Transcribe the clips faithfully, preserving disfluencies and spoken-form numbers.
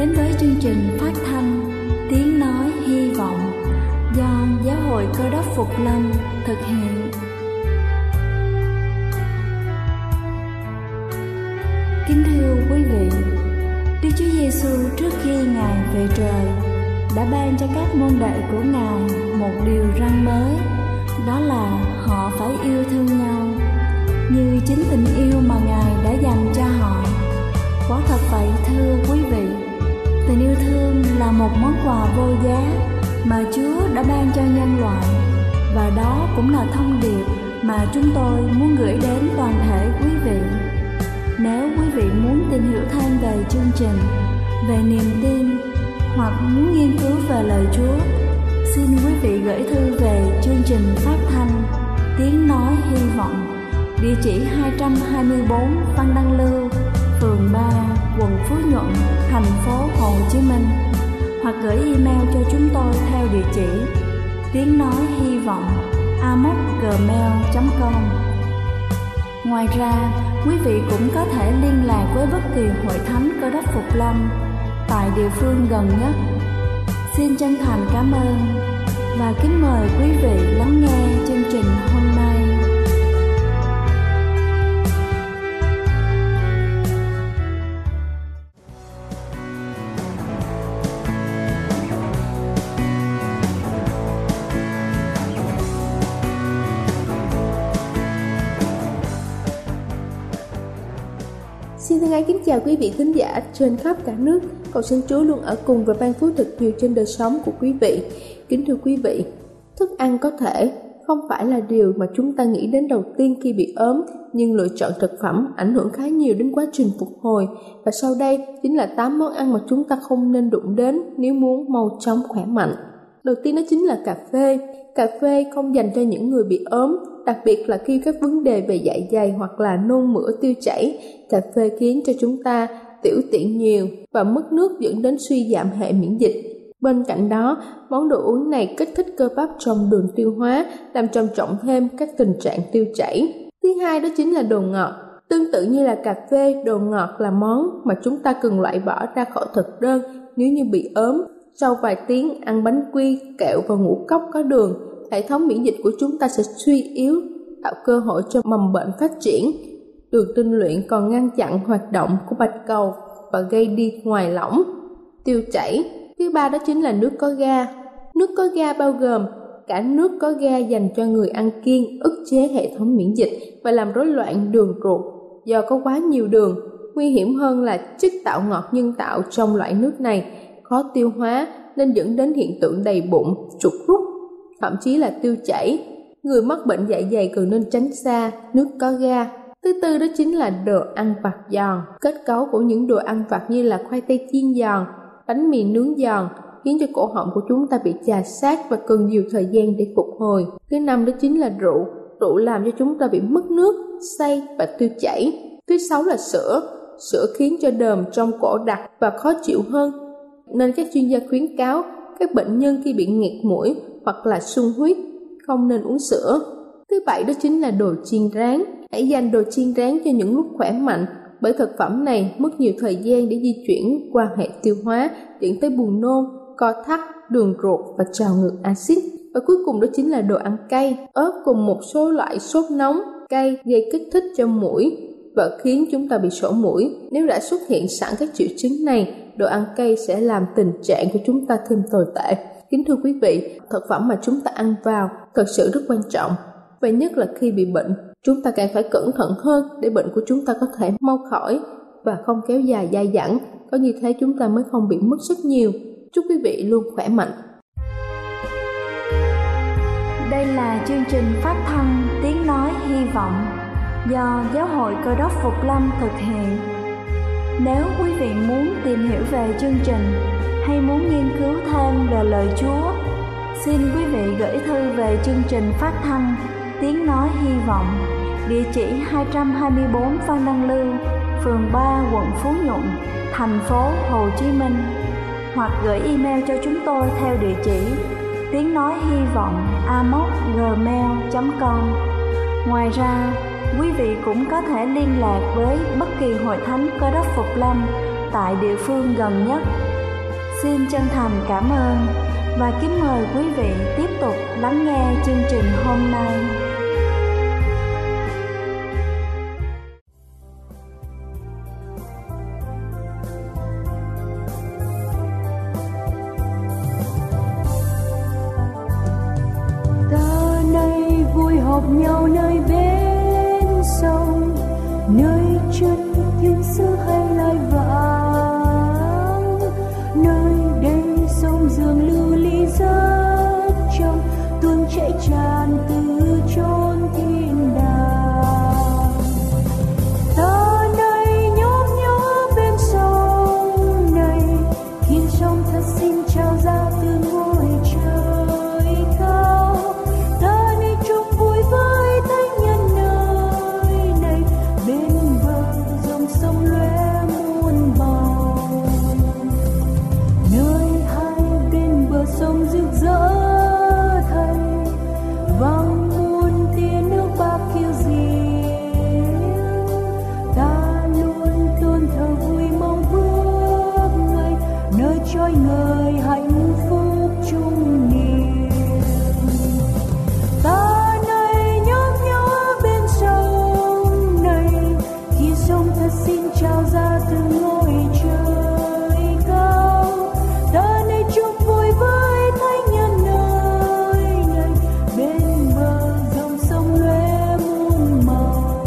đến với chương trình phát thanh Tiếng Nói Hy Vọng do Giáo hội Cơ Đốc Phục Lâm thực hiện. Kính thưa quý vị, Đức Chúa Giêsu trước khi Ngài về trời đã ban cho các môn đệ của Ngài một điều răn mới, đó là họ phải yêu thương nhau như chính tình yêu mà Ngài đã dành cho họ. Quả thật vậy thưa quý vị, tình yêu thương là một món quà vô giá mà Chúa đã ban cho nhân loại, và đó cũng là thông điệp mà chúng tôi muốn gửi đến toàn thể quý vị. Nếu quý vị muốn tìm hiểu thêm về chương trình, về niềm tin hoặc muốn nghiên cứu về lời Chúa, xin quý vị gửi thư về chương trình phát thanh Tiếng Nói Hy Vọng, địa chỉ hai trăm hai mươi bốn Phan Đăng Lưu, phường ba, quận Phú Nhuận, thành phố Hồ Chí Minh, hoặc gửi email cho chúng tôi theo địa chỉ tiếng nói hy vọng a m o c gmail chấm com. Ngoài ra, quý vị cũng có thể liên lạc với bất kỳ hội thánh Cơ Đốc Phục Lâm tại địa phương gần nhất. Xin chân thành cảm ơn và kính mời quý vị lắng nghe chương trình hôm nay. Xin thân ái kính chào quý vị thính giả trên khắp cả nước. Cầu xin Chúa luôn ở cùng và ban phước thật nhiều trên đời sống của quý vị. Kính thưa quý vị, thức ăn có thể không phải là điều mà chúng ta nghĩ đến đầu tiên khi bị ốm, nhưng lựa chọn thực phẩm ảnh hưởng khá nhiều đến quá trình phục hồi. Và sau đây chính là tám món ăn mà chúng ta không nên đụng đến nếu muốn mau chóng khỏe mạnh. Đầu tiên đó chính là cà phê. Cà phê không dành cho những người bị ốm, đặc biệt là khi các vấn đề về dạ dày hoặc là nôn mửa tiêu chảy. Cà phê khiến cho chúng ta tiểu tiện nhiều và mất nước, dẫn đến suy giảm hệ miễn dịch. Bên cạnh đó, món đồ uống này kích thích cơ bắp trong đường tiêu hóa, làm trầm trọng thêm các tình trạng tiêu chảy. Thứ hai đó chính là đồ ngọt. Tương tự như là cà phê, đồ ngọt là món mà chúng ta cần loại bỏ ra khỏi thực đơn nếu như bị ốm. Sau vài tiếng ăn bánh quy, kẹo và ngũ cốc có đường, hệ thống miễn dịch của chúng ta sẽ suy yếu, tạo cơ hội cho mầm bệnh phát triển. Đường tinh luyện còn ngăn chặn hoạt động của bạch cầu và gây đi ngoài lỏng, tiêu chảy. Thứ ba đó chính là nước có ga. Nước có ga bao gồm cả nước có ga dành cho người ăn kiêng, ức chế hệ thống miễn dịch và làm rối loạn đường ruột do có quá nhiều đường. Nguy hiểm hơn là chất tạo ngọt nhân tạo trong loại nước này khó tiêu hóa nên dẫn đến hiện tượng đầy bụng, trục rút, thậm chí là tiêu chảy. Người mắc bệnh dạ dày cần nên tránh xa nước có ga. Thứ tư đó chính là đồ ăn vặt giòn. Kết cấu của những đồ ăn vặt như là khoai tây chiên giòn, bánh mì nướng giòn khiến cho cổ họng của chúng ta bị chà sát và cần nhiều thời gian để phục hồi. Thứ năm đó chính là rượu. Rượu làm cho chúng ta bị mất nước, say và tiêu chảy. Thứ sáu là sữa. Sữa khiến cho đờm trong cổ đặc và khó chịu hơn, nên các chuyên gia khuyến cáo các bệnh nhân khi bị nghẹt mũi hoặc là sung huyết không nên uống sữa. Thứ bảy đó chính là đồ chiên rán. Hãy dành đồ chiên rán cho những lúc khỏe mạnh, bởi thực phẩm này mất nhiều thời gian để di chuyển qua hệ tiêu hóa, dẫn tới buồn nôn, co thắt đường ruột và trào ngược axit. Và cuối cùng đó chính là đồ ăn cay. Ớt cùng một số loại sốt nóng, cay gây kích thích cho mũi và khiến chúng ta bị sổ mũi. Nếu đã xuất hiện sẵn các triệu chứng này, đồ ăn cay sẽ làm tình trạng của chúng ta thêm tồi tệ. Kính thưa quý vị, thực phẩm mà chúng ta ăn vào thật sự rất quan trọng. Và nhất là khi bị bệnh, chúng ta càng phải cẩn thận hơn để bệnh của chúng ta có thể mau khỏi và không kéo dài dai dẳng. Có như thế chúng ta mới không bị mất rất nhiều. Chúc quý vị luôn khỏe mạnh. Đây là chương trình phát thanh Tiếng Nói Hy Vọng do Giáo hội Cơ Đốc Phục Lâm thực hiện. Nếu quý vị muốn tìm hiểu về chương trình hay muốn nghiên cứu thêm về lời Chúa, xin quý vị gửi thư về chương trình phát thanh Tiếng Nói Hy Vọng, địa chỉ hai trăm hai mươi bốn Phan Đăng Lưu, phường ba, quận Phú Nhuận, thành phố Hồ Chí Minh, hoặc gửi email cho chúng tôi theo địa chỉ tiếng nói hy vọng a m o c gmail chấm com. Ngoài ra, quý vị cũng có thể liên lạc với bất kỳ hội thánh Cơ Đốc Phục Lâm tại địa phương gần nhất. Xin chân thành cảm ơn và kính mời quý vị tiếp tục lắng nghe chương trình hôm nay. Ta nay vui họp nhau nơi bên sông, nơi chân thiên sứ hay lai vãng, nơi đây sông dường lưu ly rất trong, tuôn chảy tràn từ chốn thiên đàng. Ta nay nhóp nhó bên sông này, khiến sông thật xin trao ra từ ngôi trời cao. Ta nay chung vui với thánh nhân nơi này, bên bờ dòng sông lóe muôn màu, nơi hai bên bờ sông rực rỡ thay vang muôn tia nước bạc khiêu diễm. Ta luôn tôn thờ vui mong bước ngày, nơi trôi ngời hạnh phúc chung niềm. Ta nay nhóp nhó bên sông này, khi sông thật xin trao ra từ ngôi trời cao. Ta nay chúc vui với thánh nhân nơi này, bên bờ dòng sông lóe muôn màu.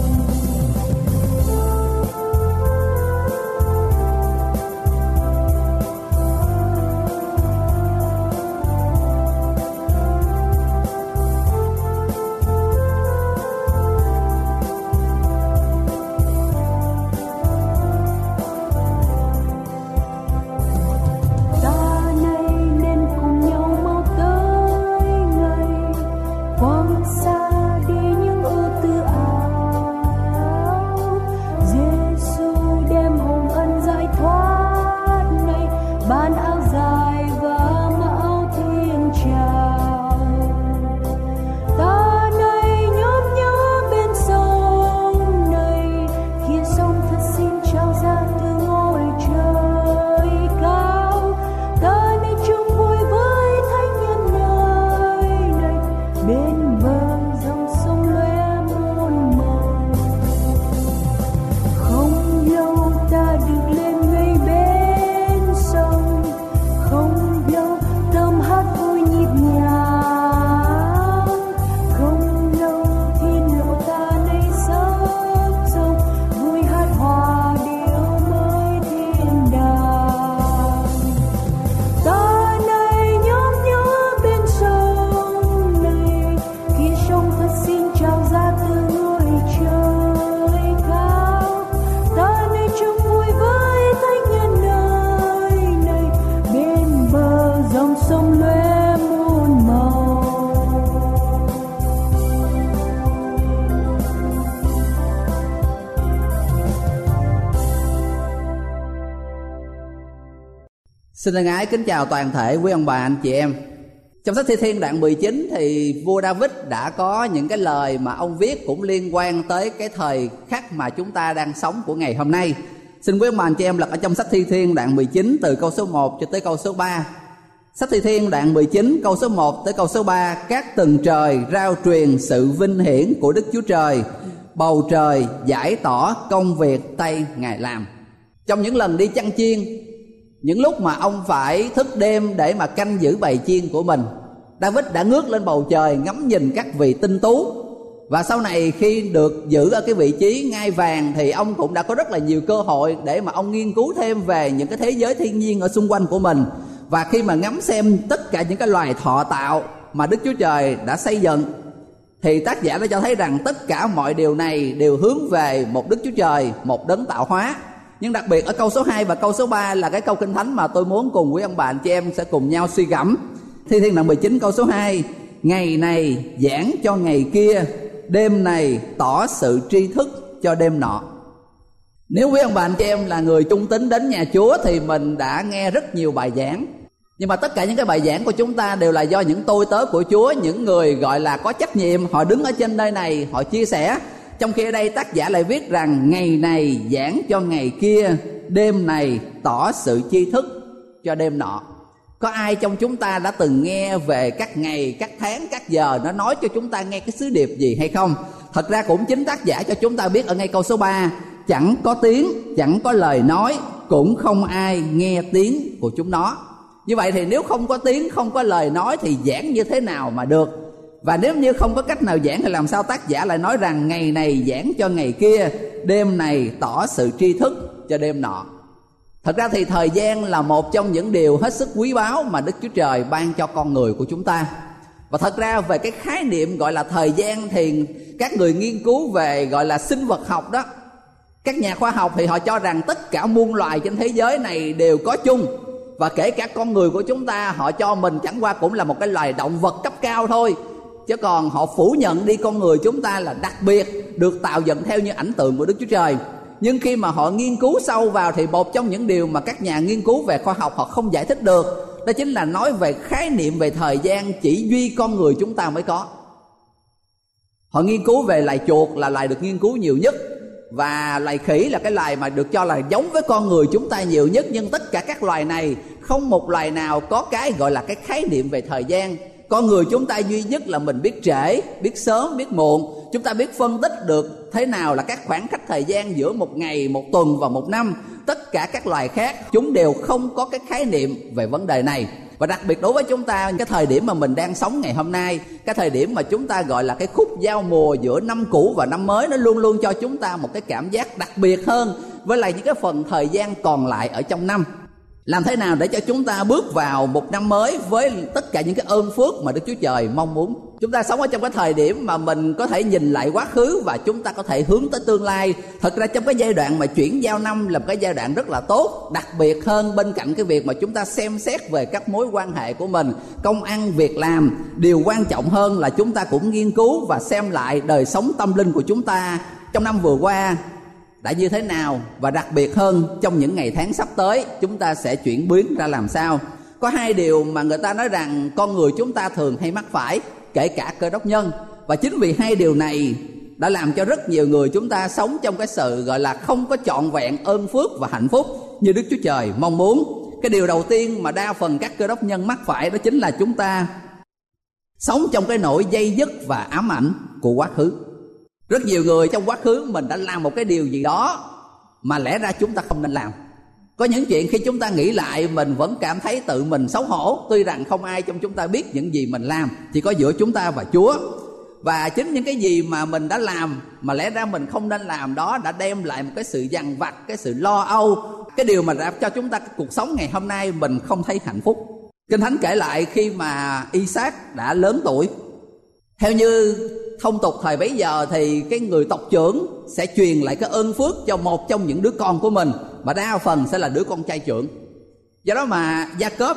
Ta nay nên cùng nhau mau tới ngày, quăng xa đi những ưu tư áo. Giêsu đem hồng ân giải thoát này, ban áo dài và mão thiên tràng. Ta nay nhóp nhó bên sông này, khi sông thật xin trao ra từ ngôi trời cao. Ta nay chung vui với thánh nhân nơi này, bên bờ dòng sông lóe muôn màu. Không lâu ta được lên ngay bên sông, không lâu tâm hát vui nhịp nhàng. Không lâu thiên lộ ta nay sắp sông, vui hát hòa điệu mới thiên đàng. Ta nay nhóp nhó bên sông này, khi sông thật xin trao ra từ ngôi trời cao. Ta nay chung vui với thánh nhân nơi này, bên bờ dòng sông lóe muôn màu. Xin thân ái kính chào toàn thể quý ông bà anh chị em. Trong sách Thi Thiên đoạn mười chín thì vua David đã có những cái lời mà ông viết cũng liên quan tới cái thời khắc mà chúng ta đang sống của ngày hôm nay. Xin quý ông bà anh chị em lật ở trong sách Thi Thiên đoạn mười chín từ câu số một cho tới câu số ba. Sách Thi Thiên đoạn mười chín câu số một tới câu số ba. Các tầng trời rao truyền sự vinh hiển của Đức Chúa Trời, bầu trời giải tỏ công việc tay Ngài làm. Trong những lần đi chăn chiên, những lúc mà ông phải thức đêm để mà canh giữ bầy chiên của mình, David đã ngước lên bầu trời ngắm nhìn các vị tinh tú. Và sau này khi được giữ ở cái vị trí ngai vàng thì ông cũng đã có rất là nhiều cơ hội để mà ông nghiên cứu thêm về những cái thế giới thiên nhiên ở xung quanh của mình. Và khi mà ngắm xem tất cả những cái loài thọ tạo mà Đức Chúa Trời đã xây dựng, thì tác giả đã cho thấy rằng tất cả mọi điều này đều hướng về một Đức Chúa Trời, một đấng tạo hóa. Nhưng đặc biệt ở câu số hai và câu số ba là cái câu Kinh Thánh mà tôi muốn cùng quý ông bà anh chị em sẽ cùng nhau suy gẫm. Thi Thiên đoạn mười chín câu số hai: ngày này giảng cho ngày kia, đêm này tỏ sự tri thức cho đêm nọ. Nếu quý ông bà anh chị em là người trung tín đến nhà Chúa thì mình đã nghe rất nhiều bài giảng. Nhưng mà tất cả những cái bài giảng của chúng ta đều là do những tôi tớ của Chúa, những người gọi là có trách nhiệm, họ đứng ở trên nơi này, họ chia sẻ. Trong khi ở đây tác giả lại viết rằng ngày này giảng cho ngày kia, đêm này tỏ sự tri thức cho đêm nọ. Có ai trong chúng ta đã từng nghe về các ngày, các tháng, các giờ nó nói cho chúng ta nghe cái sứ điệp gì hay không? Thật ra cũng chính tác giả cho chúng ta biết ở ngay câu số ba: chẳng có tiếng, chẳng có lời nói, cũng không ai nghe tiếng của chúng nó. Như vậy thì nếu không có tiếng, không có lời nói thì giảng như thế nào mà được? Và nếu như không có cách nào giảng thì làm sao tác giả lại nói rằng ngày này giảng cho ngày kia, đêm này tỏ sự tri thức cho đêm nọ? Thật ra thì thời gian là một trong những điều hết sức quý báu mà Đức Chúa Trời ban cho con người của chúng ta. Và thật ra về cái khái niệm gọi là thời gian thì các người nghiên cứu về gọi là sinh vật học đó, các nhà khoa học thì họ cho rằng tất cả muôn loài trên thế giới này đều có chung. Và kể cả con người của chúng ta, họ cho mình chẳng qua cũng là một cái loài động vật cấp cao thôi. Chứ còn họ phủ nhận đi con người chúng ta là đặc biệt, được tạo dựng theo như ảnh tượng của Đức Chúa Trời. Nhưng khi mà họ nghiên cứu sâu vào thì một trong những điều mà các nhà nghiên cứu về khoa học họ không giải thích được, đó chính là nói về khái niệm về thời gian chỉ duy con người chúng ta mới có. Họ nghiên cứu về loài chuột là loài được nghiên cứu nhiều nhất, và loài khỉ là cái loài mà được cho là giống với con người chúng ta nhiều nhất. Nhưng tất cả các loài này không một loài nào có cái gọi là cái khái niệm về thời gian. Con người chúng ta duy nhất là mình biết trễ, biết sớm, biết muộn. Chúng ta biết phân tích được thế nào là các khoảng cách thời gian giữa một ngày, một tuần và một năm. Tất cả các loài khác chúng đều không có cái khái niệm về vấn đề này. Và đặc biệt đối với chúng ta, cái thời điểm mà mình đang sống ngày hôm nay, cái thời điểm mà chúng ta gọi là cái khúc giao mùa giữa năm cũ và năm mới, nó luôn luôn cho chúng ta một cái cảm giác đặc biệt hơn với lại những cái phần thời gian còn lại ở trong năm. Làm thế nào để cho chúng ta bước vào một năm mới với tất cả những cái ơn phước mà Đức Chúa Trời mong muốn? Chúng ta sống ở trong cái thời điểm mà mình có thể nhìn lại quá khứ và chúng ta có thể hướng tới tương lai. Thật ra trong cái giai đoạn mà chuyển giao năm là một cái giai đoạn rất là tốt. Đặc biệt hơn bên cạnh cái việc mà chúng ta xem xét về các mối quan hệ của mình, công ăn, việc làm, điều quan trọng hơn là chúng ta cũng nghiên cứu và xem lại đời sống tâm linh của chúng ta trong năm vừa qua đã như thế nào, và đặc biệt hơn trong những ngày tháng sắp tới chúng ta sẽ chuyển biến ra làm sao. Có hai điều mà người ta nói rằng con người chúng ta thường hay mắc phải, kể cả Cơ Đốc nhân. Và chính vì hai điều này đã làm cho rất nhiều người chúng ta sống trong cái sự gọi là không có trọn vẹn ơn phước và hạnh phúc như Đức Chúa Trời mong muốn. Cái điều đầu tiên mà đa phần các Cơ Đốc nhân mắc phải đó chính là chúng ta sống trong cái nỗi dây dứt và ám ảnh của quá khứ. Rất nhiều người trong quá khứ mình đã làm một cái điều gì đó mà lẽ ra chúng ta không nên làm. Có những chuyện khi chúng ta nghĩ lại mình vẫn cảm thấy tự mình xấu hổ, tuy rằng không ai trong chúng ta biết những gì mình làm, chỉ có giữa chúng ta và Chúa. Và chính những cái gì mà mình đã làm mà lẽ ra mình không nên làm đó đã đem lại một cái sự dằn vặt, cái sự lo âu, cái điều mà đã cho chúng ta cuộc sống ngày hôm nay mình không thấy hạnh phúc. Kinh Thánh kể lại khi mà Isaac đã lớn tuổi, theo như thông tục thời bấy giờ thì cái người tộc trưởng sẽ truyền lại cái ơn phước cho một trong những đứa con của mình, mà đa phần sẽ là đứa con trai trưởng. Do đó mà Jacob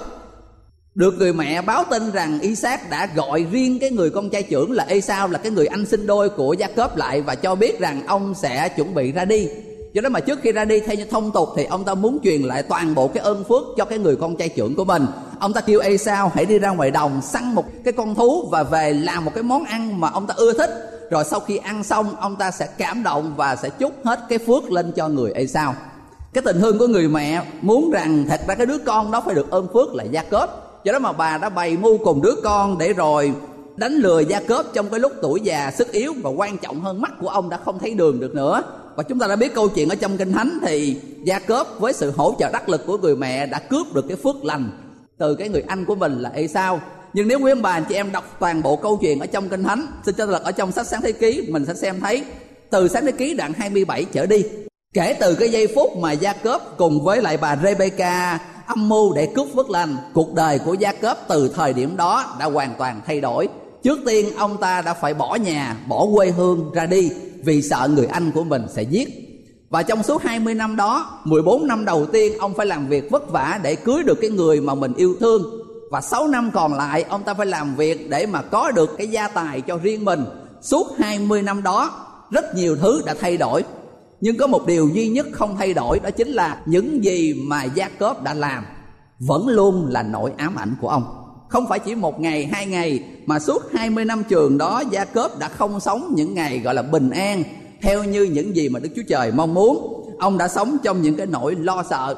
được người mẹ báo tin rằng Isaac đã gọi riêng cái người con trai trưởng là Esau, là cái người anh sinh đôi của Jacob lại, và cho biết rằng ông sẽ chuẩn bị ra đi. Do đó mà trước khi ra đi, theo như thông tục thì ông ta muốn truyền lại toàn bộ cái ơn phước cho cái người con trai trưởng của mình. Ông ta kêu Esau hãy đi ra ngoài đồng săn một cái con thú và về làm một cái món ăn mà ông ta ưa thích. Rồi sau khi ăn xong, ông ta sẽ cảm động và sẽ chúc hết cái phước lên cho người Esau. Cái tình thương của người mẹ muốn rằng thật ra cái đứa con đó phải được ơn phước là Jacob. Do đó mà bà đã bày mưu cùng đứa con để rồi đánh lừa Jacob trong cái lúc tuổi già sức yếu, và quan trọng hơn mắt của ông đã không thấy đường được nữa. Và chúng ta đã biết câu chuyện ở trong Kinh Thánh thì Jacob với sự hỗ trợ đắc lực của người mẹ đã cướp được cái phước lành từ cái người anh của mình là Esau. Nhưng nếu quý ông bà anh chị em đọc toàn bộ câu chuyện ở trong Kinh Thánh, xin cho lật ở trong sách Sáng Thế Ký, mình sẽ xem thấy từ Sáng Thế Ký đoạn hai mươi bảy trở đi, kể từ cái giây phút mà Jacob cùng với lại bà Rebecca âm mưu để cướp phước lành, cuộc đời của Jacob từ thời điểm đó đã hoàn toàn thay đổi. Trước tiên ông ta đã phải bỏ nhà, bỏ quê hương ra đi vì sợ người anh của mình sẽ giết. Và trong suốt hai mươi năm đó, mười bốn năm đầu tiên ông phải làm việc vất vả để cưới được cái người mà mình yêu thương. Và sáu năm còn lại ông ta phải làm việc để mà có được cái gia tài cho riêng mình. Suốt hai mươi năm đó rất nhiều thứ đã thay đổi, nhưng có một điều duy nhất không thay đổi, đó chính là những gì mà Jacob đã làm vẫn luôn là nỗi ám ảnh của ông. Không phải chỉ một ngày, hai ngày, mà suốt hai mươi năm trường đó Jacob đã không sống những ngày gọi là bình an theo như những gì mà Đức Chúa Trời mong muốn. Ông đã sống trong những cái nỗi lo sợ.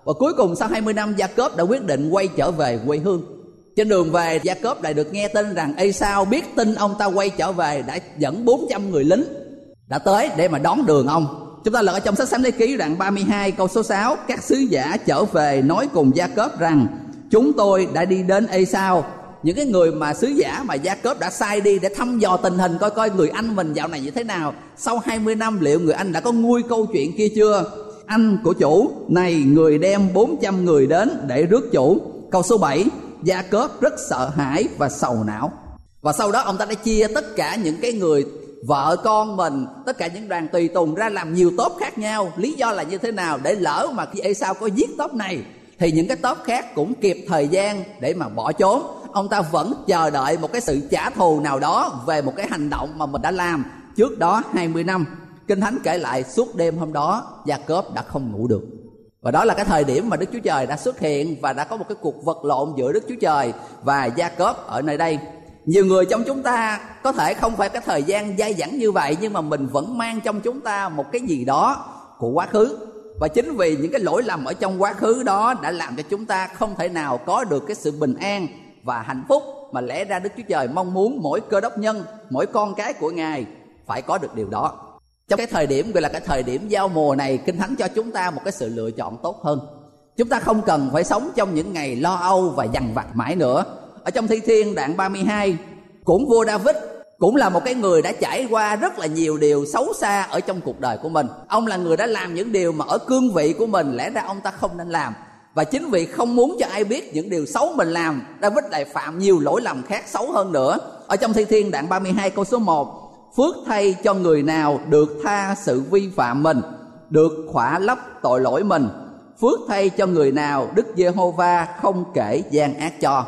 Và cuối cùng sau hai mươi năm, Gia-cốp đã quyết định quay trở về quê hương. Trên đường về, Gia-cốp lại được nghe tin rằng Ê-sao biết tin ông ta quay trở về, đã dẫn bốn trăm người lính đã tới để mà đón đường ông. Chúng ta lật ở trong sách Sáng Thế Ký đoạn ba mươi hai câu số sáu. Các sứ giả trở về nói cùng Gia-cốp rằng chúng tôi đã đi đến Ê-sao. Những cái người mà sứ giả mà Gia-cốp đã sai đi để thăm dò tình hình, coi coi người anh mình dạo này như thế nào. Sau hai mươi năm liệu người anh đã có nguôi câu chuyện kia chưa? Anh của chủ này, người đem bốn trăm người đến để rước chủ. Câu số bảy. Gia-cốp rất sợ hãi và sầu não. Và sau đó ông ta đã chia tất cả những cái người vợ con mình, tất cả những đoàn tùy tùng ra làm nhiều tốp khác nhau. Lý do là như thế nào? Để lỡ mà khi Ê-sao có giết tốp này thì những cái tốp khác cũng kịp thời gian để mà bỏ trốn. Ông ta vẫn chờ đợi một cái sự trả thù nào đó về một cái hành động mà mình đã làm trước đó hai mươi năm. Kinh Thánh kể lại suốt đêm hôm đó Gia-cốp đã không ngủ được. Và đó là cái thời điểm mà Đức Chúa Trời đã xuất hiện và đã có một cái cuộc vật lộn giữa Đức Chúa Trời và Gia-cốp ở nơi đây. Nhiều người trong chúng ta có thể không phải cái thời gian dai dẳng như vậy, nhưng mà mình vẫn mang trong chúng ta một cái gì đó của quá khứ. Và chính vì những cái lỗi lầm ở trong quá khứ đó đã làm cho chúng ta không thể nào có được cái sự bình an và hạnh phúc mà lẽ ra Đức Chúa Trời mong muốn mỗi cơ đốc nhân, mỗi con cái của Ngài phải có được điều đó. Trong cái thời điểm gọi là cái thời điểm giao mùa này, Kinh Thánh cho chúng ta một cái sự lựa chọn tốt hơn. Chúng ta không cần phải sống trong những ngày lo âu và dằn vặt mãi nữa. Ở trong Thi Thiên đoạn ba mươi hai, cũng vua David cũng là một cái người đã trải qua rất là nhiều điều xấu xa ở trong cuộc đời của mình. Ông là người đã làm những điều mà ở cương vị của mình lẽ ra ông ta không nên làm. Và chính vì không muốn cho ai biết những điều xấu mình làm, David lại phạm nhiều lỗi lầm khác xấu hơn nữa. Ở trong Thi Thiên đoạn ba mươi hai câu số một, phước thay cho người nào được tha sự vi phạm mình, được khỏa lấp tội lỗi mình. Phước thay cho người nào Đức Giê-hô-va không kể gian ác cho.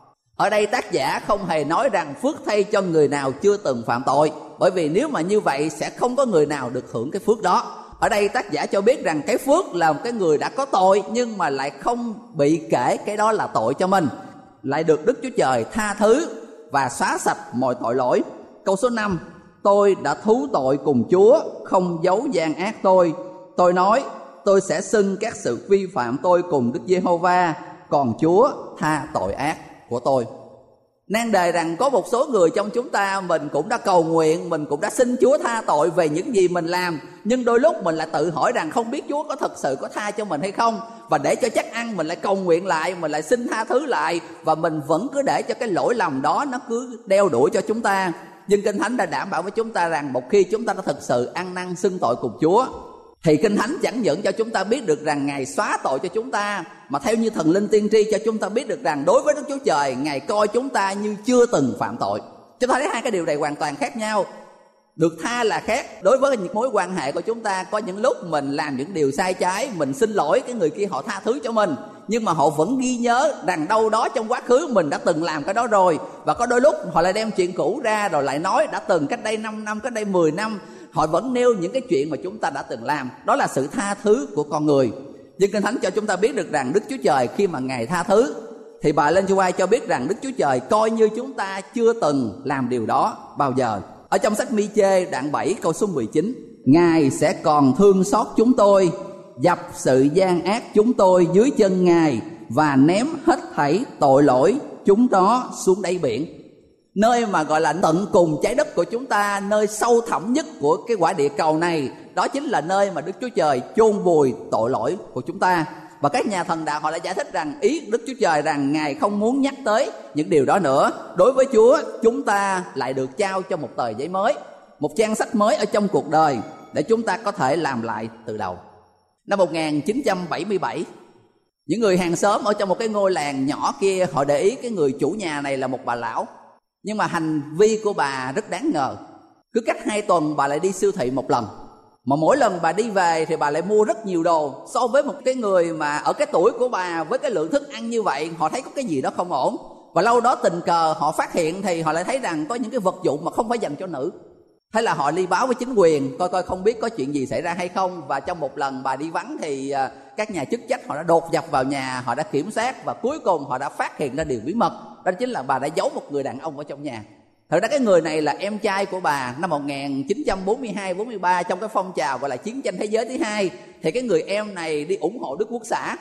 Ở đây tác giả không hề nói rằng phước thay cho người nào chưa từng phạm tội, bởi vì nếu mà như vậy sẽ không có người nào được hưởng cái phước đó. Ở đây tác giả cho biết rằng cái phước là một cái người đã có tội nhưng mà lại không bị kể cái đó là tội cho mình, lại được Đức Chúa Trời tha thứ và xóa sạch mọi tội lỗi. Câu số năm, tôi đã thú tội cùng Chúa, không giấu gian ác tôi. Tôi nói tôi sẽ xưng các sự vi phạm tôi cùng Đức Giê-hô-va, còn Chúa tha tội ác của tôi. Nan đề rằng có một số người trong chúng ta, mình cũng đã cầu nguyện, mình cũng đã xin Chúa tha tội về những gì mình làm, nhưng đôi lúc mình lại tự hỏi rằng không biết Chúa có thật sự có tha cho mình hay không. Và để cho chắc ăn mình lại cầu nguyện lại, mình lại xin tha thứ lại, và mình vẫn cứ để cho cái lỗi lầm đó nó cứ đeo đuổi cho chúng ta. Nhưng Kinh Thánh đã đảm bảo với chúng ta rằng một khi chúng ta đã thực sự ăn năn xưng tội cùng Chúa, thì Kinh Thánh chẳng những cho chúng ta biết được rằng Ngài xóa tội cho chúng ta, mà theo như thần linh tiên tri cho chúng ta biết được rằng đối với Đức Chúa Trời, Ngài coi chúng ta như chưa từng phạm tội. Chúng ta thấy hai cái điều này hoàn toàn khác nhau. Được tha là khác. Đối với những mối quan hệ của chúng ta, có những lúc mình làm những điều sai trái, mình xin lỗi cái người kia, họ tha thứ cho mình, nhưng mà họ vẫn ghi nhớ rằng đâu đó trong quá khứ mình đã từng làm cái đó rồi. Và có đôi lúc họ lại đem chuyện cũ ra rồi lại nói đã từng cách đây năm năm, cách đây mười năm. Họ vẫn nêu những cái chuyện mà chúng ta đã từng làm. Đó là sự tha thứ của con người. Nhưng Kinh Thánh cho chúng ta biết được rằng Đức Chúa Trời khi mà Ngài tha thứ, thì bà Ellen G. White cho biết rằng Đức Chúa Trời coi như chúng ta chưa từng làm điều đó bao giờ. Ở trong sách Mi-chê đoạn bảy câu số mười chín, Ngài sẽ còn thương xót chúng tôi, dập sự gian ác chúng tôi dưới chân Ngài, và ném hết thảy tội lỗi chúng đó xuống đáy biển. Nơi mà gọi là tận cùng trái đất của chúng ta, nơi sâu thẳm nhất của cái quả địa cầu này, đó chính là nơi mà Đức Chúa Trời chôn vùi tội lỗi của chúng ta. Và các nhà thần đạo họ đã giải thích rằng ý Đức Chúa Trời rằng Ngài không muốn nhắc tới những điều đó nữa. Đối với Chúa, chúng ta lại được trao cho một tờ giấy mới, một trang sách mới ở trong cuộc đời để chúng ta có thể làm lại từ đầu. Năm một nghìn chín trăm bảy mươi bảy, những người hàng xóm ở trong một cái ngôi làng nhỏ kia, họ để ý cái người chủ nhà này là một bà lão. Nhưng mà hành vi của bà rất đáng ngờ. Cứ cách hai tuần bà lại đi siêu thị một lần, mà mỗi lần bà đi về thì bà lại mua rất nhiều đồ. So với một cái người mà ở cái tuổi của bà, với cái lượng thức ăn như vậy, họ thấy có cái gì đó không ổn. Và lâu đó tình cờ họ phát hiện thì họ lại thấy rằng có những cái vật dụng mà không phải dành cho nữ. Thế là họ đi báo với chính quyền coi coi không biết có chuyện gì xảy ra hay không. Và trong một lần bà đi vắng thì các nhà chức trách họ đã đột nhập vào nhà, họ đã kiểm soát, và cuối cùng họ đã phát hiện ra điều bí mật. Đó chính là bà đã giấu một người đàn ông ở trong nhà. Thật ra cái người này là em trai của bà. Năm một nghìn chín trăm bốn mươi hai bốn mươi ba, trong cái phong trào gọi là chiến tranh thế giới thứ hai, thì cái người em này đi ủng hộ Đức Quốc xã.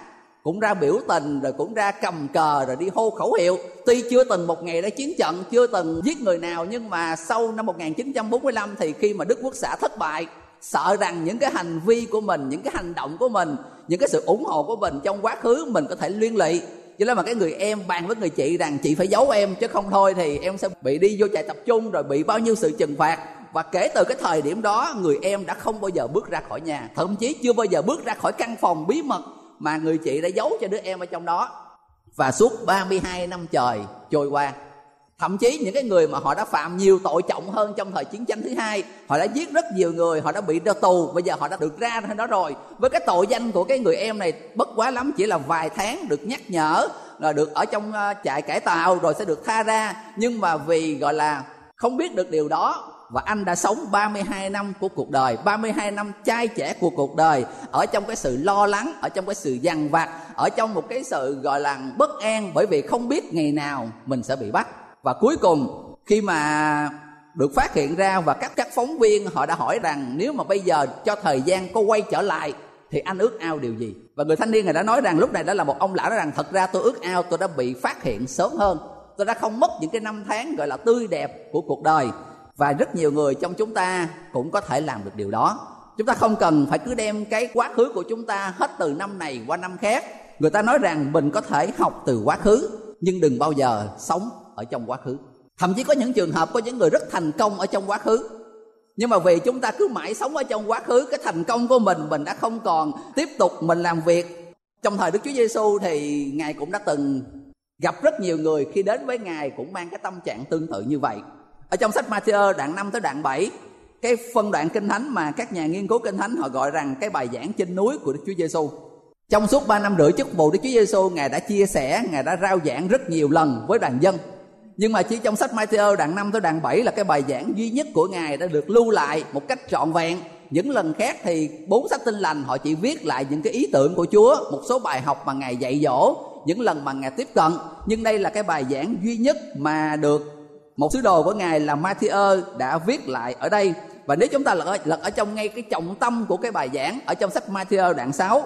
cũng ra biểu tình, rồi cũng ra cầm cờ, rồi đi hô khẩu hiệu. Tuy chưa từng một ngày đã chiến trận, chưa từng giết người nào, nhưng mà sau năm một nghìn chín trăm bốn mươi lăm thì khi mà Đức Quốc xã thất bại, sợ rằng những cái hành vi của mình, những cái hành động của mình, những cái sự ủng hộ của mình trong quá khứ mình có thể liên lụy. Cho nên mà cái người em bàn với người chị rằng chị phải giấu em, chứ không thôi thì em sẽ bị đi vô trại tập trung, rồi bị bao nhiêu sự trừng phạt. Và kể từ cái thời điểm đó, người em đã không bao giờ bước ra khỏi nhà, thậm chí chưa bao giờ bước ra khỏi căn phòng bí mật mà người chị đã giấu cho đứa em ở trong đó. Và suốt ba mươi hai năm trời trôi qua, thậm chí những cái người mà họ đã phạm nhiều tội trọng hơn trong thời chiến tranh thứ hai, họ đã giết rất nhiều người, họ đã bị ra tù, bây giờ họ đã được ra đó rồi. Với cái tội danh của cái người em này bất quá lắm chỉ là vài tháng được nhắc nhở, là được ở trong trại cải tạo rồi sẽ được tha ra. Nhưng mà vì gọi là không biết được điều đó, và anh đã sống ba mươi hai năm của cuộc đời, ba mươi hai năm trai trẻ của cuộc đời, ở trong cái sự lo lắng, ở trong cái sự dằn vặt, ở trong một cái sự gọi là bất an, bởi vì không biết ngày nào mình sẽ bị bắt. Và cuối cùng khi mà được phát hiện ra, và các các phóng viên họ đã hỏi rằng nếu mà bây giờ cho thời gian có quay trở lại thì anh ước ao điều gì? Và người thanh niên này đã nói rằng, lúc này đã là một ông lão, nói rằng thật ra tôi ước ao tôi đã bị phát hiện sớm hơn, tôi đã không mất những cái năm tháng gọi là tươi đẹp của cuộc đời. Và rất nhiều người trong chúng ta cũng có thể làm được điều đó. Chúng ta không cần phải cứ đem cái quá khứ của chúng ta hết từ năm này qua năm khác. Người ta nói rằng mình có thể học từ quá khứ, nhưng đừng bao giờ sống ở trong quá khứ. Thậm chí có những trường hợp có những người rất thành công ở trong quá khứ, nhưng mà vì chúng ta cứ mãi sống ở trong quá khứ, cái thành công của mình mình đã không còn tiếp tục mình làm việc. Trong thời Đức Chúa Giêsu thì Ngài cũng đã từng gặp rất nhiều người khi đến với Ngài cũng mang cái tâm trạng tương tự như vậy. Ở trong sách Ma-thi-ơ đoạn năm tới đoạn bảy, cái phân đoạn kinh thánh mà các nhà nghiên cứu kinh thánh họ gọi rằng cái bài giảng trên núi của Đức Chúa Giêsu. Trong suốt ba năm rưỡi chức vụ Đức Chúa Giêsu, Ngài đã chia sẻ, Ngài đã rao giảng rất nhiều lần với đoàn dân. Nhưng mà chỉ trong sách Ma-thi-ơ đoạn năm tới đoạn bảy là cái bài giảng duy nhất của Ngài đã được lưu lại một cách trọn vẹn. Những lần khác thì bốn sách Tin lành họ chỉ viết lại những cái ý tưởng của Chúa, một số bài học mà Ngài dạy dỗ, những lần mà Ngài tiếp cận. Nhưng đây là cái bài giảng duy nhất mà được một sứ đồ của Ngài là Ma-thi-ơ đã viết lại ở đây. Và nếu chúng ta lật ở, lật ở trong ngay cái trọng tâm của cái bài giảng, ở trong sách Ma-thi-ơ đoạn sáu,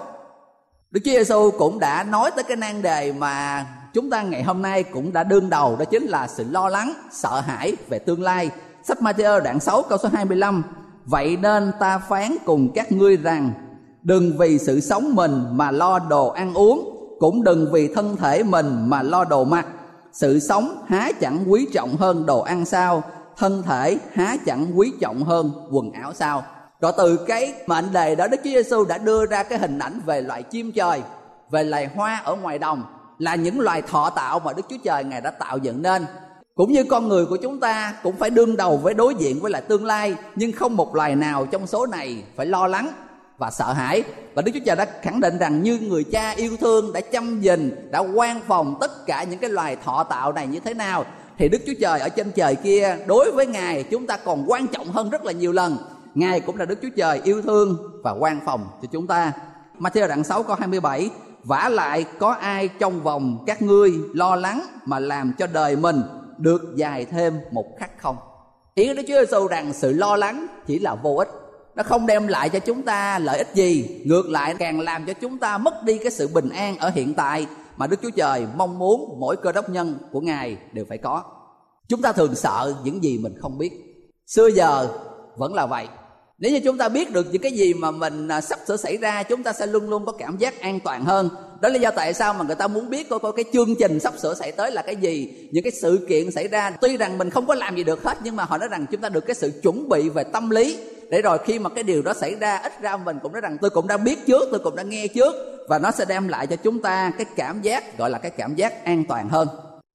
Đức Chúa Giêsu cũng đã nói tới cái nan đề mà chúng ta ngày hôm nay cũng đã đương đầu, đó chính là sự lo lắng, sợ hãi về tương lai. Sách Ma-thi-ơ đoạn sáu câu số hai mươi lăm: vậy nên ta phán cùng các ngươi rằng, đừng vì sự sống mình mà lo đồ ăn uống, cũng đừng vì thân thể mình mà lo đồ mặc. Sự sống há chẳng quý trọng hơn đồ ăn sao? Thân thể há chẳng quý trọng hơn quần áo sao? Rồi từ cái mệnh đề đó, Đức Chúa Giêsu đã đưa ra cái hình ảnh về loài chim trời, về loài hoa ở ngoài đồng, là những loài thọ tạo mà Đức Chúa Trời Ngài đã tạo dựng nên. Cũng như con người của chúng ta cũng phải đương đầu với đối diện với lại tương lai, nhưng không một loài nào trong số này phải lo lắng và sợ hãi. Và Đức Chúa Trời đã khẳng định rằng như người cha yêu thương đã chăm gìn, đã quan phòng tất cả những cái loài thọ tạo này như thế nào, thì Đức Chúa Trời ở trên trời kia đối với Ngài chúng ta còn quan trọng hơn rất là nhiều lần. Ngài cũng là Đức Chúa Trời yêu thương và quan phòng cho chúng ta. Ma-thi-ơ đoạn sáu câu hai mươi bảy: vả lại có ai trong vòng các ngươi lo lắng mà làm cho đời mình được dài thêm một khắc không? Ý của Đức Chúa Giêsu rằng sự lo lắng chỉ là vô ích, nó không đem lại cho chúng ta lợi ích gì, ngược lại càng làm cho chúng ta mất đi cái sự bình an ở hiện tại mà Đức Chúa Trời mong muốn mỗi cơ đốc nhân của Ngài đều phải có. Chúng ta thường sợ những gì mình không biết. Xưa giờ vẫn là vậy. Nếu như chúng ta biết được những cái gì mà mình sắp sửa xảy ra, chúng ta sẽ luôn luôn có cảm giác an toàn hơn. Đó là lý do tại sao mà người ta muốn biết coi, coi cái chương trình sắp sửa xảy tới là cái gì, những cái sự kiện xảy ra. Tuy rằng mình không có làm gì được hết, nhưng mà họ nói rằng chúng ta được cái sự chuẩn bị về tâm lý, để rồi khi mà cái điều đó xảy ra, ít ra mình cũng nói rằng tôi cũng đã biết trước, tôi cũng đã nghe trước, và nó sẽ đem lại cho chúng ta cái cảm giác gọi là cái cảm giác an toàn hơn.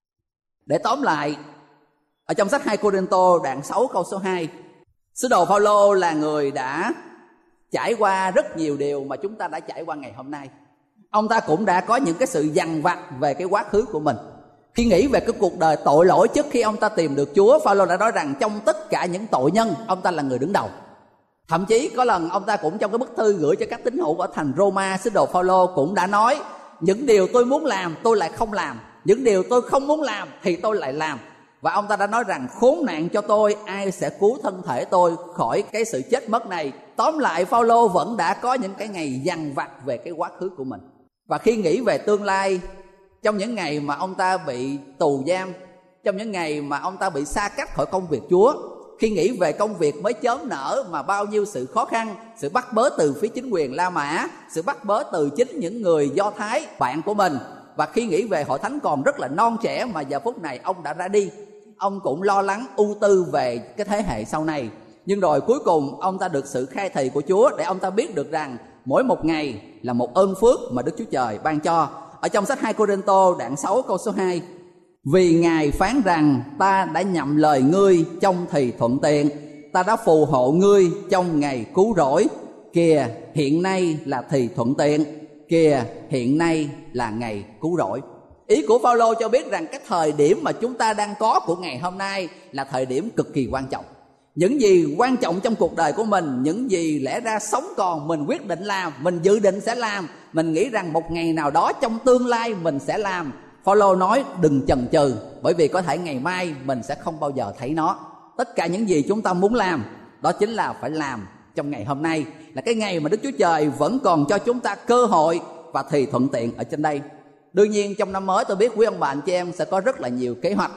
Để tóm lại, ở trong sách hai Cô-rinh-tô đoạn sáu câu số hai, sứ đồ Phao-lô là người đã trải qua rất nhiều điều mà chúng ta đã trải qua ngày hôm nay. Ông ta cũng đã có những cái sự dằn vặt về cái quá khứ của mình. Khi nghĩ về cái cuộc đời tội lỗi trước khi ông ta tìm được Chúa, Phao-lô đã nói rằng trong tất cả những tội nhân, ông ta là người đứng đầu. Thậm chí có lần ông ta cũng trong cái bức thư gửi cho các tín hữu ở thành Roma, sứ đồ Phao-lô cũng đã nói: những điều tôi muốn làm tôi lại không làm, những điều tôi không muốn làm thì tôi lại làm. Và ông ta đã nói rằng khốn nạn cho tôi, ai sẽ cứu thân thể tôi khỏi cái sự chết mất này. Tóm lại, Phao-lô vẫn đã có những cái ngày dằn vặt về cái quá khứ của mình. Và khi nghĩ về tương lai, trong những ngày mà ông ta bị tù giam, trong những ngày mà ông ta bị xa cách khỏi công việc Chúa, khi nghĩ về công việc mới chớm nở mà bao nhiêu sự khó khăn, sự bắt bớ từ phía chính quyền La Mã, sự bắt bớ từ chính những người Do Thái bạn của mình, và khi nghĩ về hội thánh còn rất là non trẻ mà giờ phút này ông đã ra đi, ông cũng lo lắng ưu tư về cái thế hệ sau này. Nhưng rồi cuối cùng ông ta được sự khai thị của Chúa để ông ta biết được rằng mỗi một ngày là một ơn phước mà Đức Chúa Trời ban cho. Ở trong sách hai Cô-rinh-tô đoạn sáu câu số hai: Vì Ngài phán rằng ta đã nhậm lời ngươi trong thì thuận tiện, ta đã phù hộ ngươi trong ngày cứu rỗi. Kìa hiện nay là thì thuận tiện, kìa hiện nay là ngày cứu rỗi. Ý của Phaolô cho biết rằng cái thời điểm mà chúng ta đang có của ngày hôm nay là thời điểm cực kỳ quan trọng. Những gì quan trọng trong cuộc đời của mình, những gì lẽ ra sống còn mình quyết định làm, mình dự định sẽ làm, mình nghĩ rằng một ngày nào đó trong tương lai mình sẽ làm, Phaolô nói đừng chần chừ, bởi vì có thể ngày mai mình sẽ không bao giờ thấy nó. Tất cả những gì chúng ta muốn làm, đó chính là phải làm trong ngày hôm nay, là cái ngày mà Đức Chúa Trời vẫn còn cho chúng ta cơ hội và thì thuận tiện ở trên đây. Đương nhiên trong năm mới tôi biết quý ông bà anh chị em sẽ có rất là nhiều kế hoạch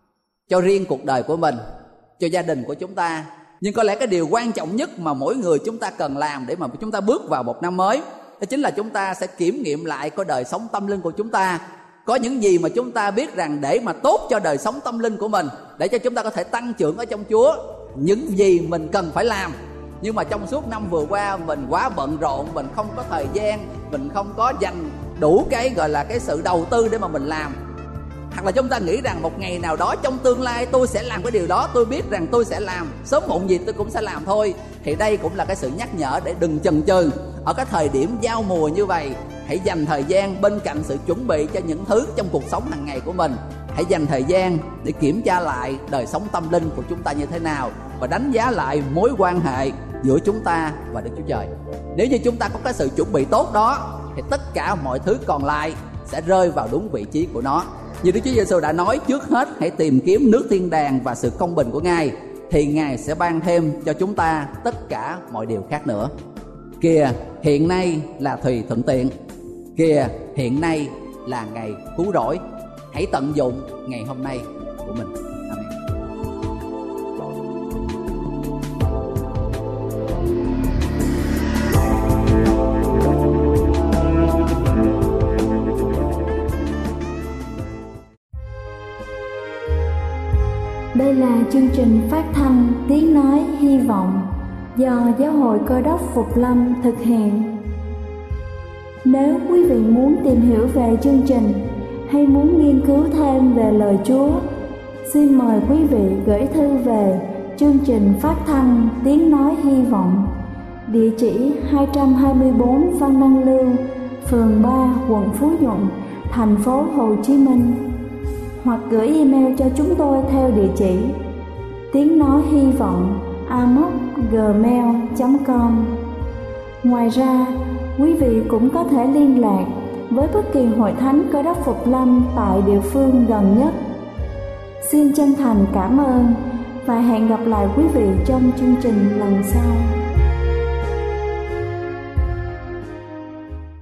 cho riêng cuộc đời của mình, cho gia đình của chúng ta. Nhưng có lẽ cái điều quan trọng nhất mà mỗi người chúng ta cần làm để mà chúng ta bước vào một năm mới, đó chính là chúng ta sẽ kiểm nghiệm lại cái đời sống tâm linh của chúng ta. Có những gì mà chúng ta biết rằng để mà tốt cho đời sống tâm linh của mình, để cho chúng ta có thể tăng trưởng ở trong Chúa, những gì mình cần phải làm. Nhưng mà trong suốt năm vừa qua mình quá bận rộn, mình không có thời gian, mình không có dành đủ cái gọi là cái sự đầu tư để mà mình làm. Hoặc là chúng ta nghĩ rằng một ngày nào đó trong tương lai tôi sẽ làm cái điều đó, tôi biết rằng tôi sẽ làm, sớm muộn gì tôi cũng sẽ làm thôi. Thì đây cũng là cái sự nhắc nhở để đừng chần chừ. Ở cái thời điểm giao mùa như vậy, hãy dành thời gian bên cạnh sự chuẩn bị cho những thứ trong cuộc sống hàng ngày của mình. Hãy dành thời gian để kiểm tra lại đời sống tâm linh của chúng ta như thế nào, và đánh giá lại mối quan hệ giữa chúng ta và Đức Chúa Trời. Nếu như chúng ta có cái sự chuẩn bị tốt đó, thì tất cả mọi thứ còn lại sẽ rơi vào đúng vị trí của nó. Như Đức Chúa Giêsu đã nói, trước hết hãy tìm kiếm nước thiên đàng và sự công bình của Ngài, thì Ngài sẽ ban thêm cho chúng ta tất cả mọi điều khác nữa. Kìa hiện nay là thì thuận tiện, kìa hiện nay là ngày cứu rỗi. Hãy tận dụng ngày hôm nay của mình. Amen. Đây là chương trình phát thanh Tiếng Nói Hy Vọng do Giáo hội Cơ đốc Phục Lâm thực hiện. Nếu quý vị muốn tìm hiểu về chương trình hay muốn nghiên cứu thêm về lời Chúa, xin mời quý vị gửi thư về chương trình phát thanh Tiếng Nói Hy Vọng, địa chỉ hai trăm hai mươi bốn Văn Đăng Lưu, phường ba, quận Phú Nhuận, thành phố Hồ Chí Minh, hoặc gửi email cho chúng tôi theo địa chỉ tiếng nói hy vọng a m o c gmail chấm com. Ngoài ra, quý vị cũng có thể liên lạc với bất kỳ hội thánh Cơ đốc Phục Lâm tại địa phương gần nhất. Xin chân thành cảm ơn và hẹn gặp lại quý vị trong chương trình lần sau.